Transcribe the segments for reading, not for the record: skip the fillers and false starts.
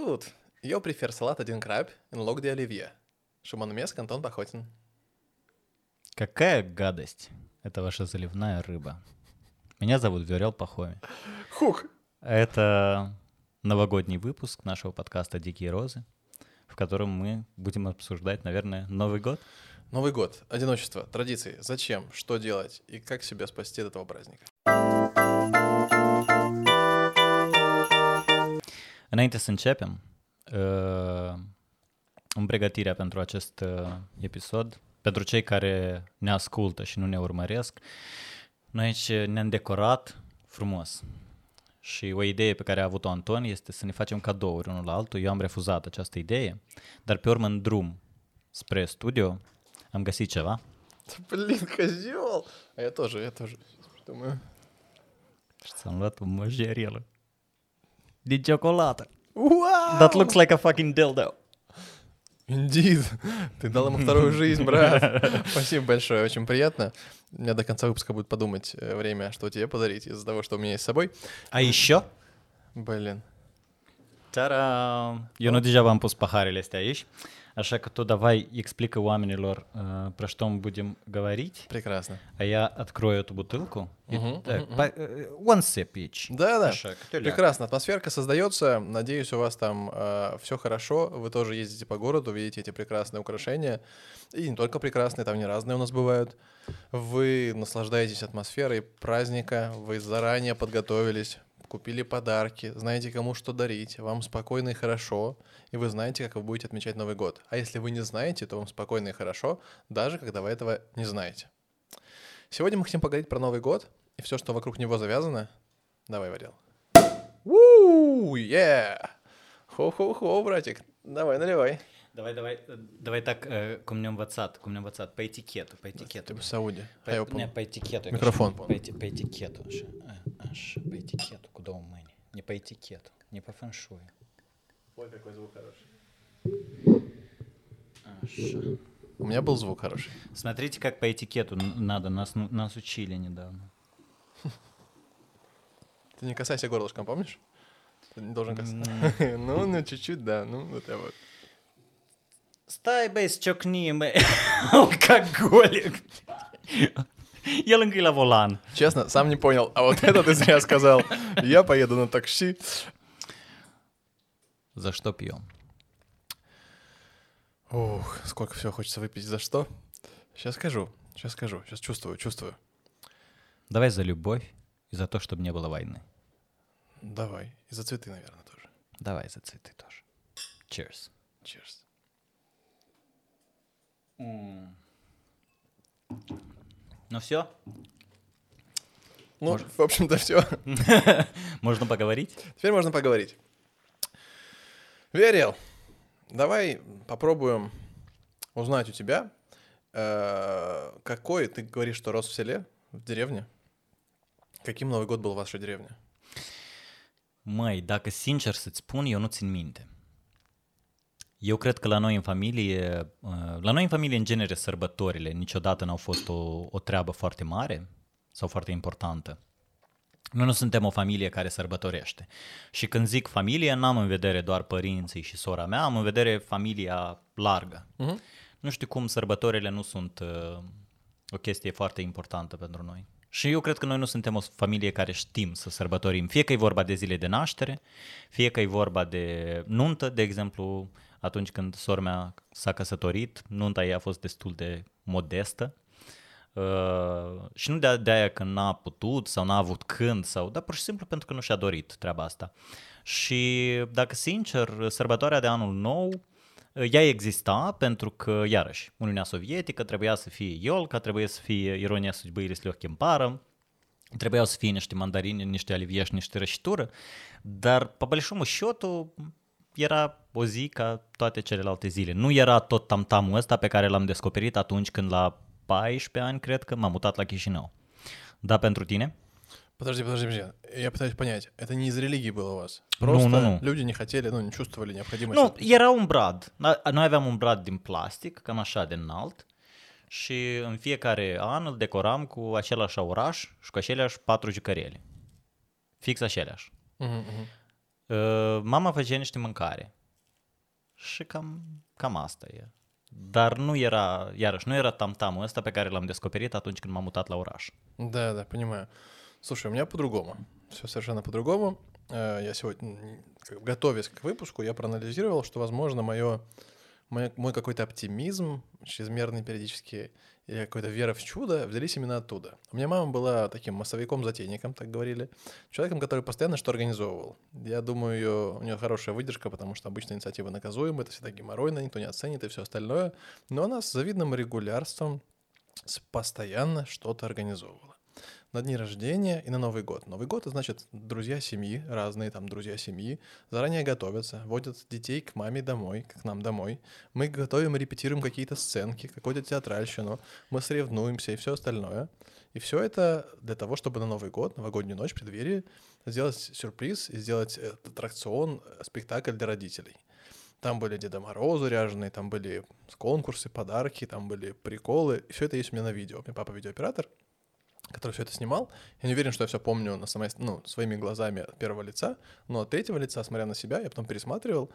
зовут? Я префер салат один краб и лог де оливье. Шимон Меск, Антон Пахотин. Какая гадость. Это ваша заливная рыба. Меня зовут Виорел Пахоми. Хух! Это новогодний выпуск нашего подкаста «Дикие розы», в котором мы будем обсуждать, наверное, Новый год. Новый год, одиночество, традиции, зачем, что делать и как себя spasti от этого praznика. Înainte să începem, în pregătirea pentru acest episod, pentru cei care ne ascultă și nu ne urmăresc, noi aici ne-am decorat frumos. Și o idee pe care a avut-o Anton este să ne facem cadouri unul la altul. Eu am refuzat această idee, dar pe urmă în drum spre studio am găsit ceva. Блин, козёл! А я тоже думаю. Și ți-am luat o măjerelă din ciocolată. Wow! That looks like a fucking dildo. Indeed. Ты дал ему вторую жизнь, брат. Спасибо большое, очень приятно. У меня до конца выпуска будет подумать время, что тебе подарить из-за того, что у меня есть с собой. A еще? Блин. Ta-da! Eu nu degeaba am pus paharele astea aici, așa că tu давай explică оamenilor про что мы будем говорить. Прекрасно. А я открою эту бутылку. One sip each. Да-да, Așa, câte o leacă. прекрасно. Атмосферка создается. Надеюсь, у вас там все хорошо. Вы тоже ездите по городу, видите эти прекрасные украшения. И не только прекрасные, там не разные у нас бывают. Вы наслаждаетесь атмосферой праздника, вы заранее подготовились, купили подарки, знаете, кому что дарить, вам спокойно и хорошо, и вы знаете, как вы будете отмечать Новый год. А если вы не знаете, то вам спокойно и хорошо, даже когда вы этого не знаете. Сегодня мы хотим поговорить про Новый год и все, что вокруг него завязано. Давай, Варел. Уу, Хо-хо-хо, братик. Давай, наливай. Давай так, cum ne-am învățat, pe etichetă. Ты в Сауде. Pe etichetă. Microfon. Pe etichetă, așa, pe etichetă, cu două mâini. Не по этикету, не по фэншую. Ой, какой звук хороший. Așa. У меня был звук хороший. Смотрите, как по этикету надо, нас учили недавно. Ты не касайся горлышком, помнишь? Ты не должен касаться. Ну, чуть-чуть, да. Ну, вот я вот. Stai, băi, ciocnie, băi, алкоголик. El încă e la volan. Честно, сам не понял. А вот это ты зря сказал. Я поеду на такси. За что пьем? Ух, сколько всего хочется выпить. За что? Сейчас скажу. Сейчас чувствую. Давай за любовь и за то, чтобы не было войны. Давай. И за цветы, наверное, тоже. Давай за цветы тоже. Cheers. Cheers. Ну все? Ну, в общем-то, все. Можно поговорить? Теперь можно поговорить. Верил, давай попробуем узнать у тебя, какой, ты говоришь, что рос в селе, в деревне. Каким Новый год был в вашей деревне? Măi, dacă sincer să-ți spun, eu nu țin minte. Eu cred că la noi în familie în genere sărbătorile niciodată n-au fost o treabă foarte mare sau foarte importantă. Noi nu suntem o familie care sărbătorește. Și când zic familie, n-am în vedere doar părinții și sora mea, am în vedere familia largă. Nu știu cum sărbătorile nu sunt o chestie foarte importantă pentru noi. Și eu cred că noi nu suntem o familie care știm să sărbătorim. Fie că e vorba de zile de naștere, fie că e vorba de nuntă, de exemplu, atunci când sora mea s-a căsătorit, nunta ei a fost destul de modestă. Și nu de aia că n-a putut sau n-a avut când, dar pur și simplu pentru că nu și-a dorit treaba asta. Și dacă sincer, sărbătoarea de anul nou, ea exista pentru că, iarăși, Uniunea Sovietică trebuia să fie iolca, trebuia să fie ironia судьбы или с легким паром, trebuiau să fie niște mandarini, niște olivie și niște rășitură, dar, pe большому счету, era o zi ca toate celelalte zile. Nu era tot tamtamul ăsta pe care l-am descoperit atunci când la 14 ani, cred că m-am mutat la Chișinău. Da, pentru tine? Подожди. Я пытаюсь понять. Это не из религии было у вас? Просто люди не хотели, не чувствовали необходимости. Nu, era un brad. Noi aveam un brad din plastic, cam așa de înalt. Și în fiecare an îl decoram cu același oraș și cu aceleași 4 jucăriele. Fix aceleași. Mama făcea niște mâncare. și cam asta e. Dar nu era tam-tamul ăsta pe care l-am descoperit atunci când m-am mutat la oraș. Да, понимаю. Слушай, у меня по-другому. Все совершенно по-другому. Я сегодня, готовясь к выпуску, я проанализировал, что, возможно, мой какой-то оптимизм, чрезмерный периодически, или какая-то вера в чудо взялись именно оттуда. У меня мама была таким массовиком-затейником, так говорили, человеком, который постоянно что организовывал. Я думаю, у нее хорошая выдержка, потому что обычно инициатива наказуема, это всегда геморройно, никто не оценит и все остальное. Но она с завидным регулярством постоянно что-то организовывала. На дни рождения и на Новый год. Новый год — это значит друзья семьи, разные там друзья семьи, заранее готовятся, водят детей к маме домой, к нам домой. Мы готовим и репетируем какие-то сценки, какую-то театральщину, мы соревнуемся и все остальное. И все это для того, чтобы на Новый год, новогоднюю ночь, в преддверии, сделать сюрприз и сделать аттракцион, спектакль для родителей. Там были Деда Морозы ряженые, там были конкурсы, подарки, там были приколы. И все это есть у меня на видео. У меня папа видеооператор, который все это снимал. Я не уверен, что я все помню своими глазами от первого лица, но от третьего лица, смотря на себя, я потом пересматривал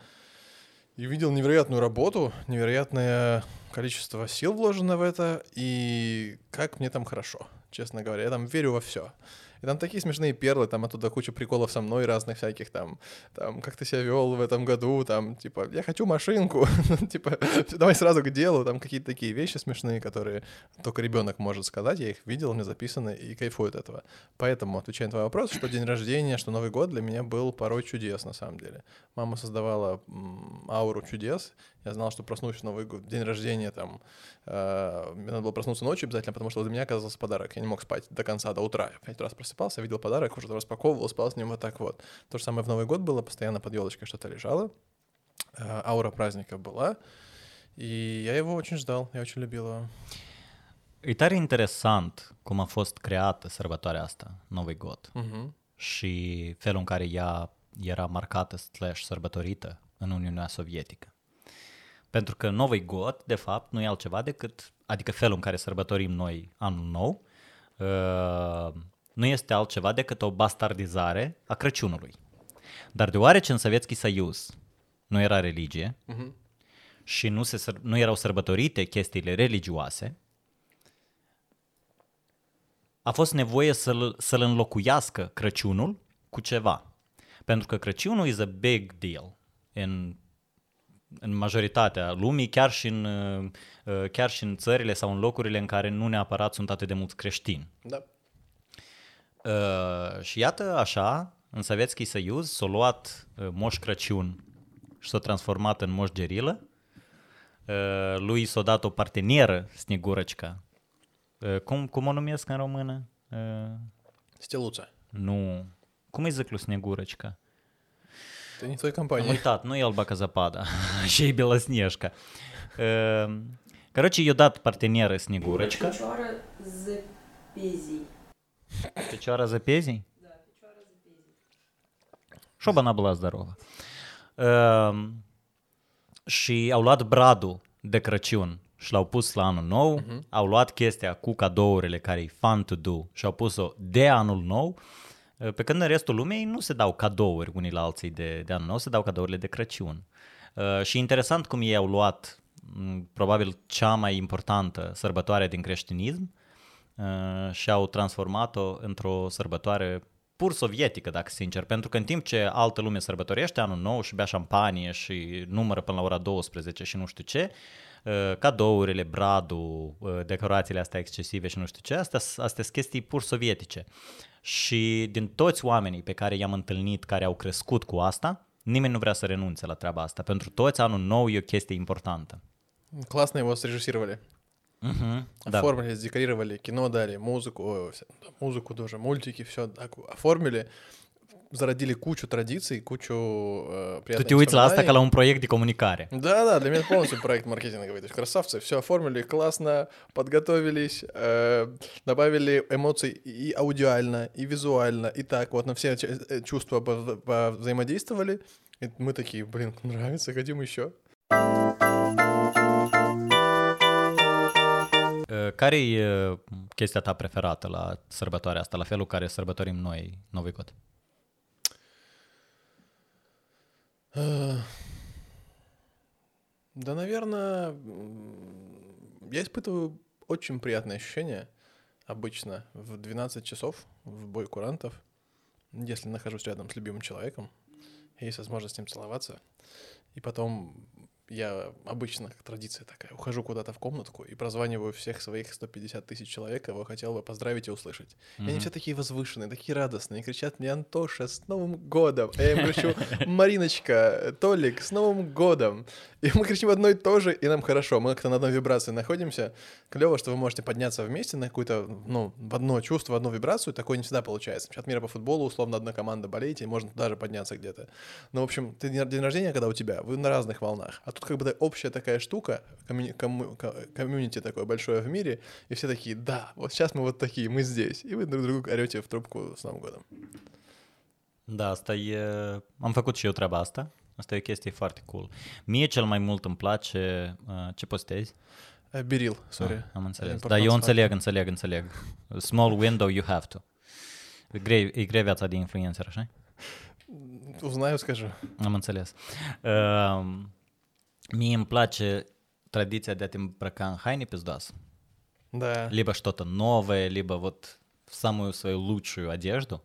и видел невероятную работу, невероятное количество сил вложено в это, и как мне там хорошо, честно говоря. Я там верю во все. И там такие смешные перлы, там оттуда куча приколов со мной разных всяких, там как ты себя вел в этом году, там, типа, я хочу машинку, типа, давай сразу к делу, там какие-то такие вещи смешные, которые только ребенок может сказать, я их видел, у меня записаны и кайфую от этого. Поэтому, отвечая на твой вопрос, что день рождения, что Новый год для меня был порой чудес, на самом деле. Мама создавала ауру чудес, я знал, что проснусь в Новый год, день рождения, там, мне надо было проснуться ночью обязательно, потому что для меня оказался подарок. Я не мог спать до конца, до утра. Я 5 раз просыпался, видел подарок, уже распаковывал, спал с ним вот так вот. То же самое в Новый год было, постоянно под елочкой что-то лежало, аура праздника была, и я его очень ждал, я очень любил его. E tare interesant cum a fost creată sărbătoarea asta, Nowy God, și felul în care ea era marcată / sărbătorită în Uniunea Sovietică. Pentru că Nowy God, de fapt, nu e altceva decât, adică felul în care sărbătorim noi anul nou, nu este altceva decât o bastardizare a Crăciunului. Dar deoarece în Sovietski Soiuz nu era religie și nu erau sărbătorite chestiile religioase, a fost nevoie să-l înlocuiască Crăciunul cu ceva. Pentru că Crăciunul is a big deal în majoritatea lumii, chiar și în țările sau în locurile în care nu neapărat sunt atât de mulți creștini. Da. Și iată așa, în Sovietski Soiuz s-a luat Moș Crăciun și s-a transformat în Moș Gerilă. Lui s-a dat o partenieră, Snegurăcica. Cum o numesc în română? Steluța. Nu. Cum îi zic lui Snegurăcica? Это не твоя компания. Am uitat, nu e Alba ca Zapada și e Белоснежка. Короче, i-a dat partenieră Snegurăcica. Fecioară zăpezii. Fecioara zăpezii? Da, fecioară zăpezii. Șoba n-a была здорова. Și au luat bradul de Crăciun și l-au pus la anul nou, au luat chestia cu cadourile care e fun to do și au pus-o de anul nou, pe când în restul lumii nu se dau cadouri unii la alții de anul nou, se dau cadourile de Crăciun. Și interesant cum ei au luat probabil cea mai importantă sărbătoare din creștinism și au transformat-o într-o sărbătoare pur sovietică, dacă sincer, pentru că în timp ce altă lume sărbătorește anul nou și bea șampanie și numără până la ora 12 și nu știu ce, cadourile, bradul, decorațiile astea excesive și nu știu ce, astea sunt chestii pur sovietice. Și din toți oamenii pe care i-am întâlnit care au crescut cu asta, nimeni nu vrea să renunțe la treaba asta. Pentru toți anul nou e o chestie importantă. Классно его срежиссировали. Да. Оформили, декорировали, кино дали, музыку тоже, мультики, все оформили, зародили кучу традиций, кучу приятных Tu te uiți la asta ca la un proiect de comunicare. Да, для меня это полностью проект маркетинговый. То есть красавцы, все оформили классно, подготовились, добавили эмоций и аудиально, и визуально, и так вот на все чувства взаимодействовали. И мы такие, нравится, хотим еще. Care e chestia ta preferată la sărbătoarea asta, la felul care sărbătorim noi Nowy God? Да, наверное, я испытываю очень приятное ощущение обычно в 12 часов в бой курантов, если нахожусь рядом с любимым человеком, есть возможность с ним целоваться, и потом я обычно, как традиция такая, ухожу куда-то в комнатку и прозваниваю всех своих 150 тысяч человек, кого хотел бы поздравить и услышать. И они все такие возвышенные, такие радостные, кричат мне: «Антоша, с Новым годом!» А я им кричу: «Мариночка, Толик, с Новым годом!» И мы кричим одно и то же, и нам хорошо. Мы как-то на одной вибрации находимся. Клево, что вы можете подняться вместе на какую-то, в одно чувство, в одну вибрацию. Такое не всегда получается. Чемпионат мира по футболу, условно, одна команда болеет, и можно даже подняться где-то. Ну, в общем, день рождения, когда у тебя, вы на разных волнах. А тут как бы общая такая штука, комьюнити такое большое в мире, и все такие: «Да, вот сейчас мы вот такие, мы здесь». И вы друг другу орете в трубку с Новым годом. Da, asta e... Am făcut și eu treaba asta. Asta e o chestie foarte cool. Mie cel mai mult îmi place... ce postezi? Берил, sorry. Am înțeles. Dar eu înțeleg. Small window, you have to. E grea viața de influencer, așa? Узнаю, скажу. Am înțeles. Mie îmi place tradiția de a te îmbrăca în haine пиздос. Да. Либо что-то новое, либо вот в самую свою лучшую одежду.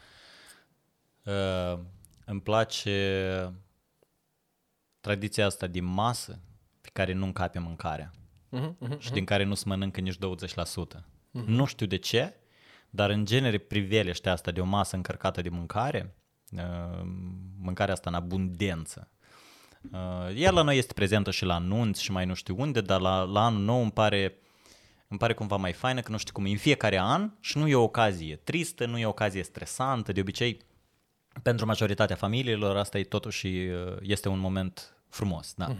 Îmi place tradiția asta de masă pe care nu încape mâncarea și din care nu se mănâncă nici 20%. Nu știu de ce, dar în genere priveliște asta de o masă încărcată de mâncare, mâncarea asta în abundență. Ea la noi este prezentă și la anunți și mai nu știu unde, dar la anul nou îmi pare cumva mai faină, că nu știu cum, în fiecare an și nu e o ocazie tristă, nu e o ocazie stresantă, de obicei pentru majoritatea familiilor asta e totuși este un moment frumos, da.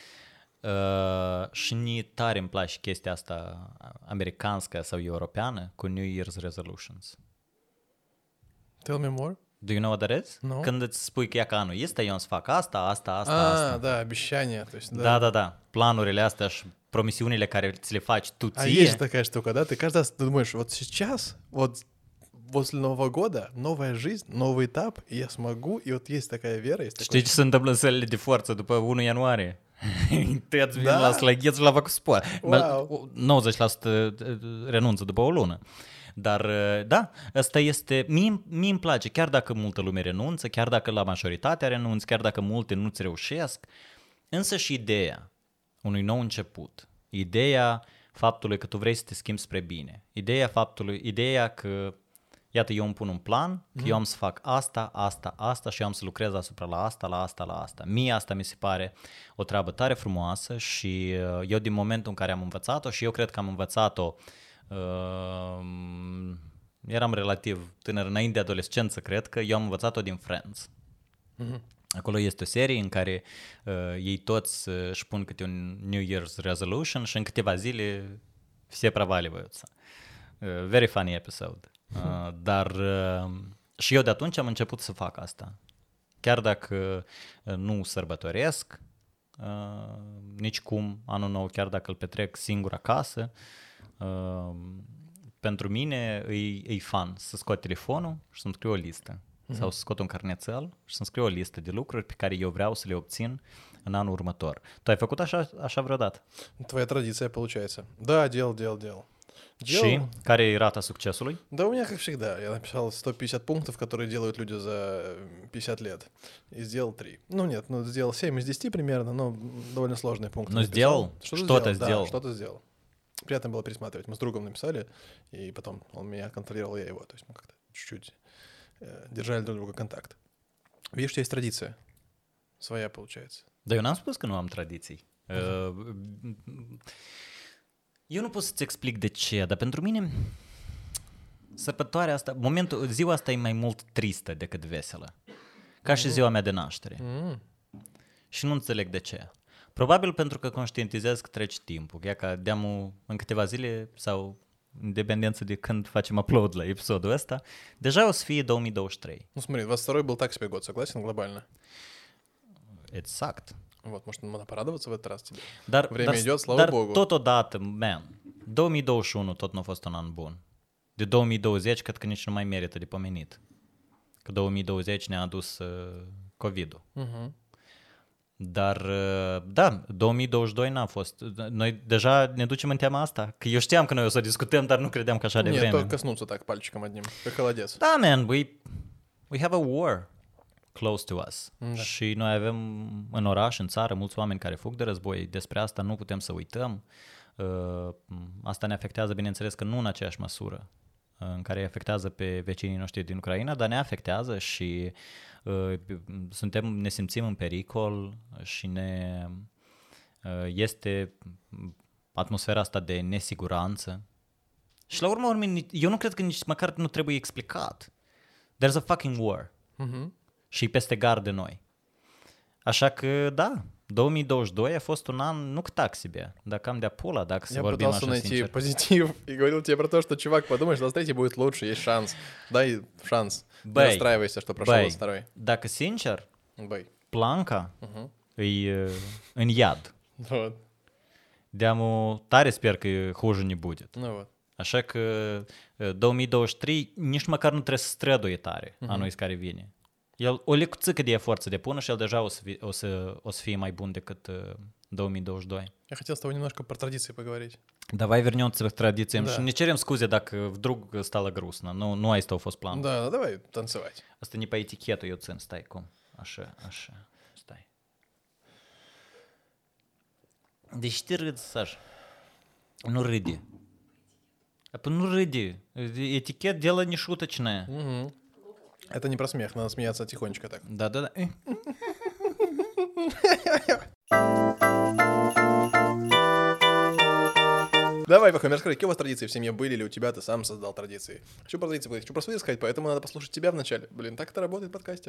Și ni tare îmi place chestia asta americanscă sau europeană cu New Year's resolutions. Tell me more. Do you know what that is? No. Când îți spui că anul este, eu îmi să fac asta. Да, обещания. То есть, Да. Planurile astea și promisiunile care ți le faci tu ție. А есть же такая штука, да? Ты каждый раз думаешь: вот сейчас, вот после Нового года, новая жизнь, новый этап, и я смогу, и вот есть такая вера, есть Știi ce se întâmplă în sălile de forță după 1 ianuarie? Tăiați vin la slăgheți și la făcut sport. Wow. 90% renunță după o lună. Dar da, asta este, mie îmi place, chiar dacă multă lume renunță, chiar dacă la majoritatea renunță, chiar dacă multe nu-ți reușesc, însă și ideea unui nou început, ideea faptului că tu vrei să te schimbi spre bine, ideea că iată, eu îmi pun un plan, că eu am să fac asta și eu am să lucrez asupra la asta. Mie asta mi se pare o treabă tare frumoasă și eu din momentul în care am învățat-o, și eu cred că am învățat-o, eram relativ tânăr, înainte de adolescență, cred că eu am învățat-o din Friends. Acolo este o serie în care ei toți își pun câte un New Year's resolution și în câteva zile все проваливаются. Very funny episode. Dar și eu de atunci am început să fac asta. Chiar dacă nu sărbătoresc nicicum anul nou, chiar dacă îl petrec singur acasă, pentru mine e fun să scot telefonul și să-mi scriu o listă. Sau să scot un carnețel și să-mi scriu o listă de lucruri pe care eu vreau să le obțin în anul următor. Tu ai făcut așa vreodată? Твоя традиция получается. Да, делал. Și care e rata succesului? Да, у меня как всегда. Я написал 150 пунктов, которые делают люди за 50 лет. И сделал 3. Ну нет, сделал 7 из 10 примерно, но довольно сложные пункты. Но сделал? Что-то сделал. Да, что-то сделал. Приятно было пересматривать. Мы с другом написали, и потом он меня контролировал, я его. То есть мы как-то чуть-чуть держали друг друга контакт. Видишь, у тебя есть традиция. Своя, получается. Dar eu n-am spus că nu am tradiții. Eu nu pot să-ți explic de ce, dar pentru mine sărbătoarea asta, ziua asta e mai mult tristă decât veselă. Ca și ziua mea de naștere. Și nu înțeleg de ce. Probabil pentru că conștientizez că trece timpul. E ca de-amul în câteva zile sau în dependență de când facem upload la episodul ăsta, deja o să fie 2023. Ну смотри, 22 был так себе год, согласен, глобально? Exact. Вот, может, надо порадоваться в этот раз тебе. Dar, Время идет, слава Богу. Totodată, 2021 tot nu a fost un an bun. De 2020 cred că nici nu mai merită de pomenit. Că 2020 ne-a adus COVID-ul. Dar, da, 2022 n-a fost. Noi deja ne ducem în tema asta. Că eu știam că noi o să discutăm, dar nu credeam că așa de Нет, vreme. только коснуться так пальчиком одним, как холодец. Da, man, we have a war close to us. Da. Și noi avem în oraș, în țară, mulți oameni care fug de război. Despre asta nu putem să uităm. Asta ne afectează, bineînțeles, că nu în aceeași măsură în care îi afectează pe vecinii noștri din Ucraina, dar ne afectează și ne simțim în pericol și este atmosfera asta de nesiguranță. Și la urmă, eu nu cred că nici măcar nu trebuie explicat. There's a fucking war. Мгм. Și peste gard de noi. Așa că, da, 2022 a fost un an nu так себе, dar cam de-a pula, dacă să Я vorbim пытался așa найти sincer. позитив и говорил тебе про то, что, чувак, подумай, что 23 будет лучше, есть шанс. Дай шанс. Не Băi, расстраивайся, что прошел băi, 22. dacă sincer, Бэй. Planca Мгм. e în iad. Вот. De-amu tare sper că hуже не будет. Ну вот. Așa că 2023 nici măcar nu trebuie să străduie tare anul care vine. El o lecuțică de efort să depună și el deja o să fie mai bun decât 2022. Я хотел с тобой немножко про традиции поговорить. Давай вернемся к традициям. Да. Не cerem scuze dacă вдруг стало грустно. Nu asta a fost planul. Да, давай танцевать. Asta не по этикету eu țin. Stai, cum? Așa. Stai. De ce te râzi, Saj? Nu râde. Nu râde. Этикет дело не шуточное. Мгм. Это не про смех, надо смеяться тихонечко так. Да. Давай, Пахом, расскажи, какие у вас традиции в семье были, или у тебя ты сам создал традиции? Хочу про традиции, хочу про свои сказать, поэтому надо послушать тебя вначале. Блин, так это работает в подкасте.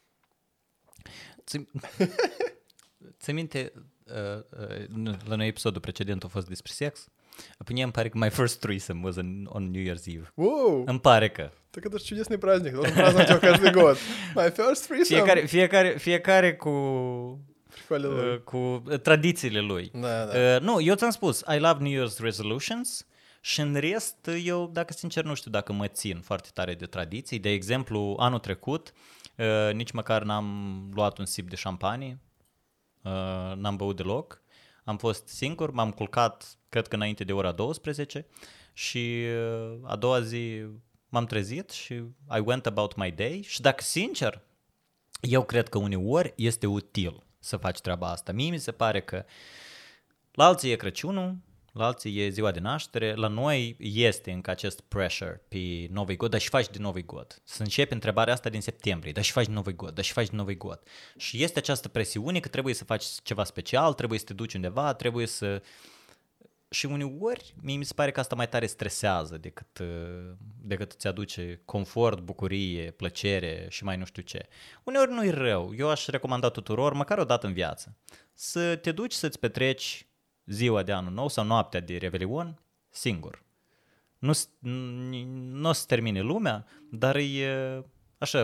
Ți minte, la noi episodul precedent a fost despre sex? Pe mine îmi pare că my first threesome was on New Year's Eve. Воу, Îmi pare că. так это же чудесный праздник, должен праздновать его каждый год. My first threesome. Fiecare cu Прикольно. cu tradițiile lui. Da. Nu, eu ți-am spus, I love New Year's resolutions și în rest, eu, dacă sincer, nu știu dacă mă țin foarte tare de tradiții. De exemplu, anul trecut, nici măcar n-am luat un sip de șampanie, n-am băut deloc. Am fost singur, m-am culcat, cred că înainte de ora 12 și a doua zi m-am trezit și I went about my day și dacă sincer, eu cred că uneori este util să faci treaba asta. Mie mi se pare că la alții e Crăciunul, la alții e ziua de naștere, la noi este încă acest pressure pe Novi God, dar și faci de Novi God. Să începi întrebarea asta din septembrie, dar și faci de Novi God, dar și faci de Novi God. Și este această presiune că trebuie să faci ceva special, trebuie să te duci undeva, trebuie să... Și uneori, mie mi se pare că asta mai tare stresează decât îți aduce confort, bucurie, plăcere și mai nu știu ce. Uneori nu e rău. Eu aș recomanda tuturor, măcar o dată în viață, să te duci să-ți petreci ziua de anul nou sau noaptea de Revelion singur. Nu o să termine lumea, dar e așa,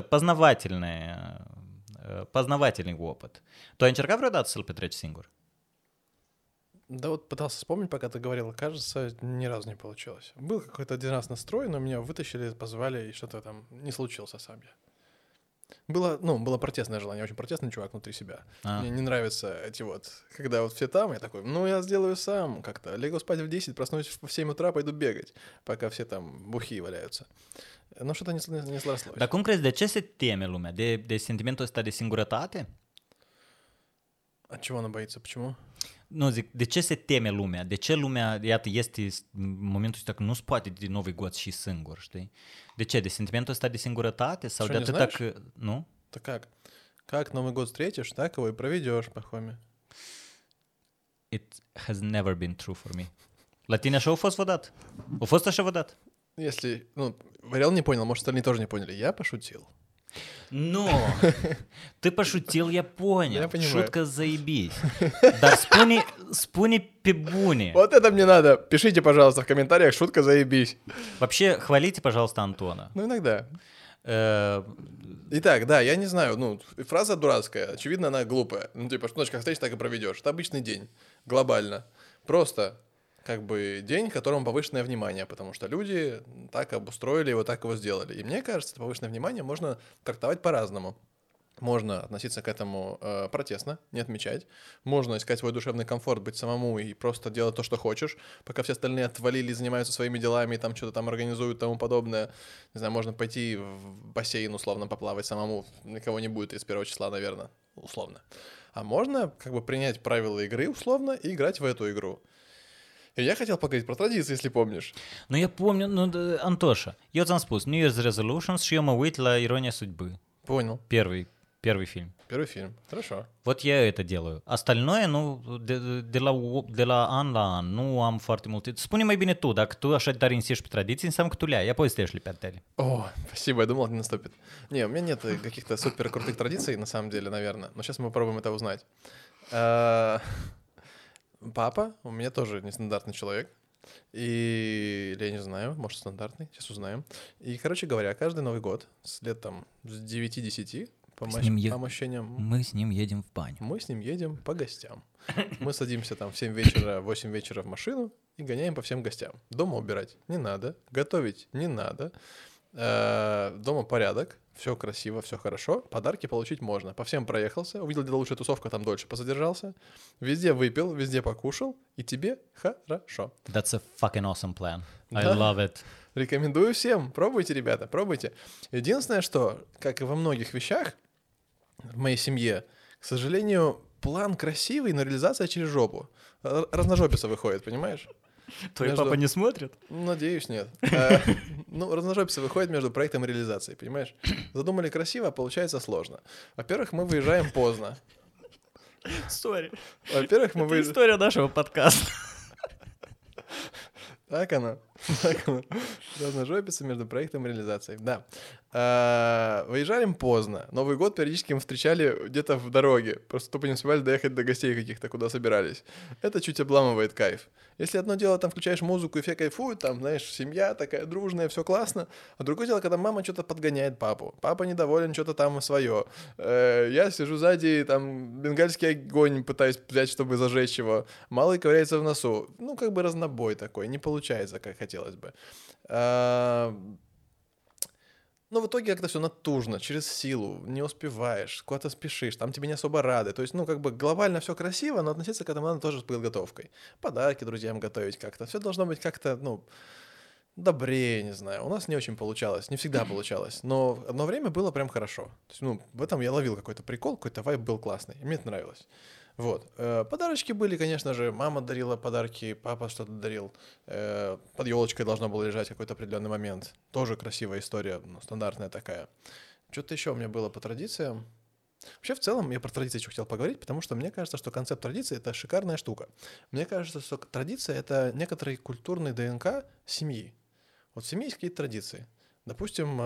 познавательный опыт. Tu ai încercat vreodată să-l petreci singur? Да вот пытался вспомнить, пока ты говорил, кажется, ни разу не получилось. Был какой-то один раз настрой, но меня вытащили, позвали, и что-то там не случился сам я. Было протестное желание, я очень протестный чувак внутри себя. Мне не нравятся эти вот, когда вот все там, я такой, я сделаю сам как-то. Легу спать в 10, проснусь в 7 утра, пойду бегать, пока все там бухие валяются. Но что-то не срослось. Dar cum crezi, de ce se teme lumea? De sentimentul ăsta de singurătate? От чего она боится? Почему? Nu, zic, de ce se teme lumea? De ce lumea, iată, este în momentul ăsta că nu se poate de Novi God și singur, știi? De ce? De sentimentul ăsta de singurătate? Sau de atâta că... Nu? Да как? Как Новый год встретишь, так его и проведешь, Пахоме. It has never been true for me. La tine așa a fost vădat? A fost așa vădat? Если, Варел не понял, может, остальные тоже не поняли. Я пошутил. Ну, ты пошутил, я понял. Я понимаю. Шутка заебись. Да спуни pe bune. Вот это мне надо. Пишите, пожалуйста, в комментариях, шутка заебись. Вообще, хвалите, пожалуйста, Антона. Иногда. Итак, да, я не знаю, фраза дурацкая, очевидно, она глупая. Что как встретишь, так и проведешь. Это обычный день, глобально. Просто, день, которому повышенное внимание, потому что люди так обустроили его, так его сделали. И мне кажется, это повышенное внимание можно трактовать по-разному. Можно относиться к этому протестно, не отмечать. Можно искать свой душевный комфорт, быть самому и просто делать то, что хочешь, пока все остальные отвалили, занимаются своими делами, там что-то там организуют и тому подобное. Не знаю, можно пойти в бассейн условно поплавать самому. Никого не будет 31 числа, наверное, условно. А можно как бы принять правила игры условно и играть в эту игру. И я хотел поговорить про традиции, если помнишь. Nu, eu помню, Антоша, eu ți-am spus New Year's Resolutions și eu mă uit la Ironia Судьбы. Понял. Первый фильм. Первый фильм. Хорошо. Вот я это делаю. Остальное, ну, de la an la an, nu am foarte multe. Spune mai bine tu, dacă tu așa tare insisti pe tradiții, înseamnă că tu le ai, apoi să le pe tale. О, спасибо, я думал, не наступит. Не, у меня нет каких-то супер крутых традиций, на самом деле, наверное. Но сейчас мы попробуем это узнать. Папа у меня тоже нестандартный человек. Или я не знаю, может, стандартный, сейчас узнаем. И, короче говоря, каждый Новый год с лет там с 9-10 по ощущениям... Мы с ним едем в баню. Мы с ним едем по гостям. Мы садимся там в 7 вечера, 8 вечера в машину и гоняем по всем гостям. Дома убирать не надо, готовить не надо. Дома порядок, все красиво, все хорошо. Подарки получить можно. По всем проехался, увидел, где лучшая тусовка, там дольше позадержался. Везде выпил, везде покушал, и тебе хорошо. That's a fucking awesome plan. I Да. love it. Рекомендую всем. Пробуйте, ребята, пробуйте. Единственное, что, как и во многих вещах в моей семье, к сожалению, план красивый, но реализация через жопу. Разножопица выходит, понимаешь? Твой Между- папа не смотрит? Надеюсь, нет. Ну, разножопица выходит между проектом и реализацией, понимаешь? Задумали красиво, а получается сложно. Во-первых, мы выезжаем поздно. Сори. Во-первых, мы Это выезжаем... история нашего подкаста. Так оно. Так оно. Разножопица между проектом и реализацией. Да. Выезжаем поздно. Новый год периодически мы встречали где-то в дороге. Просто тупо не успевали доехать до гостей каких-то, куда собирались. Это чуть обламывает кайф. Если одно дело, там включаешь музыку и все кайфуют, там, знаешь, семья такая дружная, все классно. А другое дело, когда мама что-то подгоняет папу. Папа недоволен, что-то там свое. Я сижу сзади, там, бенгальский огонь пытаюсь взять, чтобы зажечь его. Малый ковыряется в носу. Ну, как бы разнобой такой. Не получается, как хотелось бы. Но в итоге как-то все натужно, через силу, не успеваешь, куда-то спешишь, там тебе не особо рады. То есть, ну, как бы глобально все красиво, но относиться к этому надо тоже с подготовкой. Подарки друзьям готовить как-то. Все должно быть как-то, ну, добрее, не знаю. У нас не очень получалось, не всегда получалось. Но одно время было прям хорошо. То есть, ну, в этом я ловил какой-то прикол, какой-то вайб был классный. И мне это нравилось. Вот. Подарочки были, конечно же. Мама дарила подарки, папа что-то дарил. Под елочкой должно было лежать какой-то определенный момент. Тоже красивая история, ну, стандартная такая. Что-то еще у меня было по традициям. Вообще, в целом, я про традиции еще хотел поговорить, потому что мне кажется, что концепт традиции — это шикарная штука. Мне кажется, что традиция — это некоторый культурный ДНК семьи. Вот в семье есть какие-то традиции. Допустим,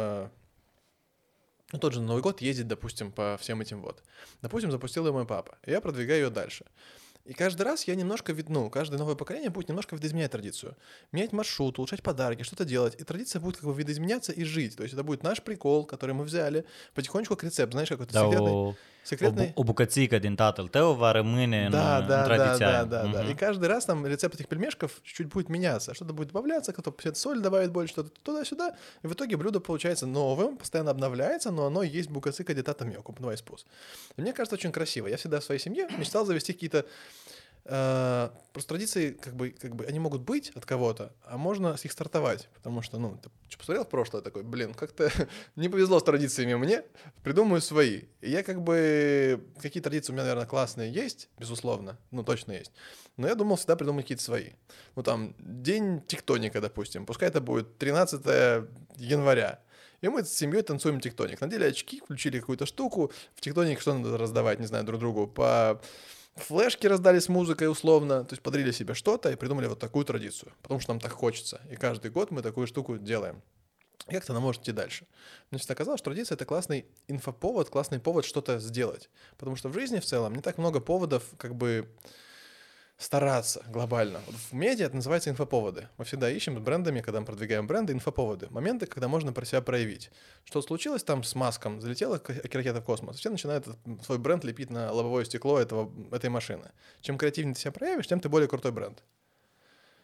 ну, тот же Новый год ездить, допустим, по всем этим вот. Допустим, запустил ее мой папа, и я продвигаю ее дальше. И каждый раз я немножко, каждое новое поколение будет немножко видоизменять традицию. Менять маршрут, улучшать подарки, что-то делать. И традиция будет как бы видоизменяться и жить. То есть это будет наш прикол, который мы взяли, потихонечку как рецепт, знаешь, какой-то секретный... O bucățică din tatăl tău va rămâne în tradiția aia. Да. И каждый раз там рецепт этих пельмешков чуть-чуть будет меняться. Что-то будет добавляться, кто-то соль добавит больше, что-то туда-сюда. И в итоге блюдо получается новым, постоянно обновляется, но оно есть букацика детата мелко, давай спус. И мне кажется, очень красиво. Я всегда в своей семье мечтал завести какие-то просто традиции, как бы они могут быть от кого-то, а можно с них стартовать, потому что, ну, ты посмотрел в прошлое, такой, блин, как-то не повезло с традициями мне, придумаю свои. И я как бы, какие традиции у меня, наверное, классные есть, безусловно, ну, точно есть, но я думал всегда придумать какие-то свои. Ну, там, день тектоника, допустим, пускай это будет 13 января, и мы с семьей танцуем тектоник. Надели очки, включили какую-то штуку, в тектоник что надо раздавать, не знаю, друг другу, по... Флешки раздали с музыкой условно, то есть подарили себе что-то и придумали вот такую традицию, потому что нам так хочется. И каждый год мы такую штуку делаем. И как-то она может идти дальше. Значит, оказалось, что традиция — это классный инфоповод, классный повод что-то сделать. Потому что в жизни в целом не так много поводов как бы стараться глобально. Вот в медиа это называется инфоповоды. Мы всегда ищем с брендами, когда мы продвигаем бренды, инфоповоды. Моменты, когда можно про себя проявить. Что случилось там с Маском? Залетела ракета в космос. Все начинают свой бренд лепить на лобовое стекло этой машины. Чем креативнее ты себя проявишь, тем ты более крутой бренд.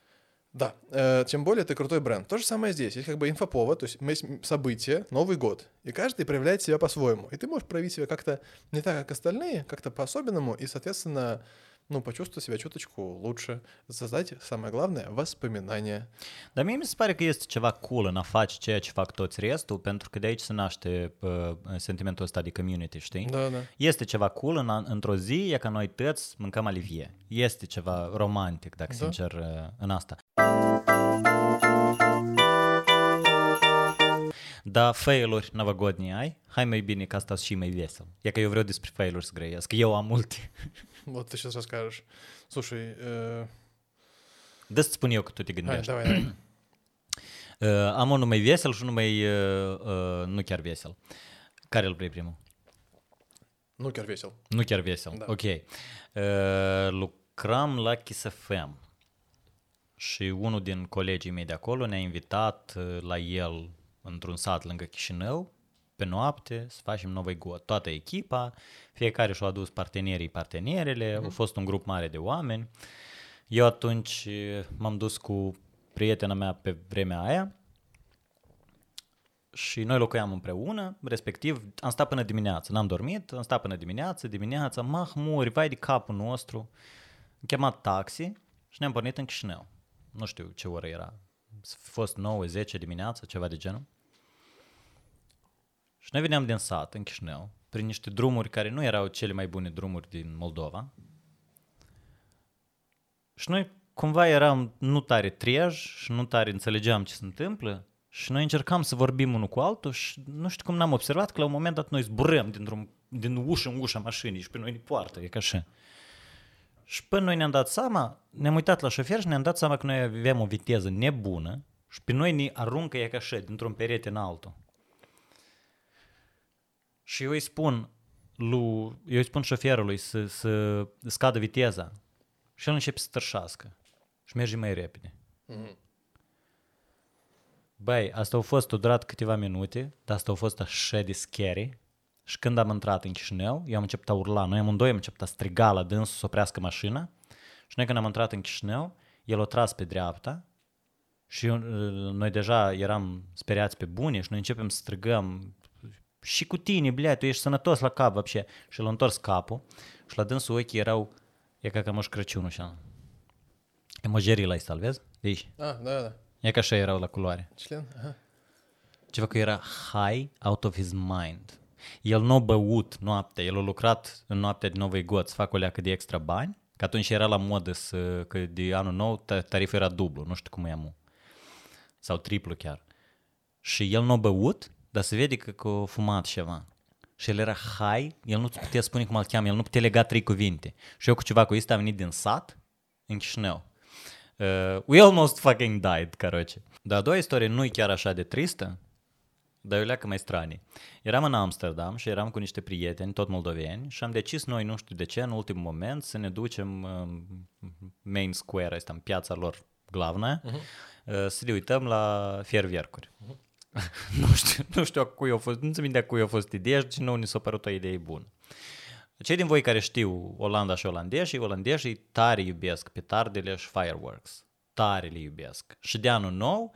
Да, тем более ты крутой бренд. То же самое здесь. Есть как бы инфоповод, то есть есть событие, Новый год, и каждый проявляет себя по-своему. И ты можешь проявить себя как-то не так, как остальные, как-то по-особенному, и, soответственно, почувствовать себя чуточку lучше, soздать, самое glавное, воспоминания. Dar mie mi se pare că este ceva cool în a face ceea ce fac toți restul, pentru că de aici se naște sentimentul ăsta de community, știi? Da. Este ceva cool într-o zi, e ca noi toți mâncăm alivie. Este ceva romantic, dacă sincer, în asta. Da, failuri новогодние ai? Hai mai bine că asta și mai vesel. E că eu vreau despre failuri să grăiesc. Eu am multe. Вот ты сейчас расскажешь. Слушай, Dă-ți spun eu că tu te gândești. давай. Am unul mai vesel și unul mai nu chiar vesel. Care îl vrei primul? Nu chiar vesel. Nu chiar vesel, Da. ok. Lucram la Kiss FM și unul din colegii mei de acolo ne-a invitat la el într-un sat lângă Chișinău pe noapte să facem Novый gод. Toată echipa, fiecare și-a adus partenerele, a fost un grup mare de oameni. Eu atunci m-am dus cu prietena mea pe vremea aia și noi locuiam împreună, respectiv am stat până dimineață, n-am dormit, am stat până dimineața, mahmuri, vai de capul nostru, am chemat taxi și ne-am pornit în Chișinău. Nu știu ce oră era, a fost 9-10 dimineața, ceva de genul. Și noi veneam din sat în Chișinău, prin niște drumuri care nu erau cele mai bune drumuri din Moldova. Și noi cumva eram nu tare treji și nu tare înțelegeam ce se întâmplă și noi încercam să vorbim unul cu altul și nu știu cum n-am observat că la un moment dat noi zburăm din ușă în ușa mașinii și pe noi ne poartă, e ca așa. Și până noi ne-am dat seama, ne-am uitat la șofer și ne-am dat seama că noi aveam o viteză nebună și pe noi ne aruncă e ca așa, dintr-un perete în altul. Și eu îi spun șoferului să scadă viteza și el începe să tărșească și merge mai repede. Băi, asta a fost, a durat câteva minute, dar asta a fost așa de scary. Și când am intrat în Chișinău, eu am început a urla, noi amândoi am început a striga la dânsul să oprească mașina și noi când am intrat în Chișinău, el a tras pe dreapta și noi deja eram speriați pe bune și noi începem să strigăm și cu tine, blea, tu ești sănătos la cap, вообще. Și l-a întors capul și la dânsul ochii erau, e ca Moș Crăciunul așa. Emojerii la ăsta, vezi? De aici. Da. E ca așa erau la culoare. Член? Ага. Ceva că era high out of his mind. El nu a băut noaptea, el a lucrat în noaptea de Novый gод să facă o leacă de extra bani, că atunci era la modă că de anul nou tariful era dublu, nu știu cum e amu. Sau triplu chiar. Și el nu a băut, dar se vede că a fumat ceva. Și el era high, el nu putea spune cum îl cheamă, el nu putea lega 3 cuvinte. Și eu cu ceva cu ăsta am venit din sat în Chișinău. We almost fucking died, короче. Dar a doua istorie nu e chiar așa de tristă, dar e o leacă mai stranie. Eram în Amsterdam și eram cu niște prieteni, tot moldoveni, și am decis noi, nu știu de ce, în ultimul moment, să ne ducem Main Square, ăsta, în piața lor glavnă, să ne uităm la fiervercuri. Nu știu cui a fost, nu-ți minte cui a fost ideea și nu ni s-a părut o idee bună. Cei din voi care știu Olanda și olandeșii tare iubesc petardele și fireworks. Tare le iubesc. Și de anul nou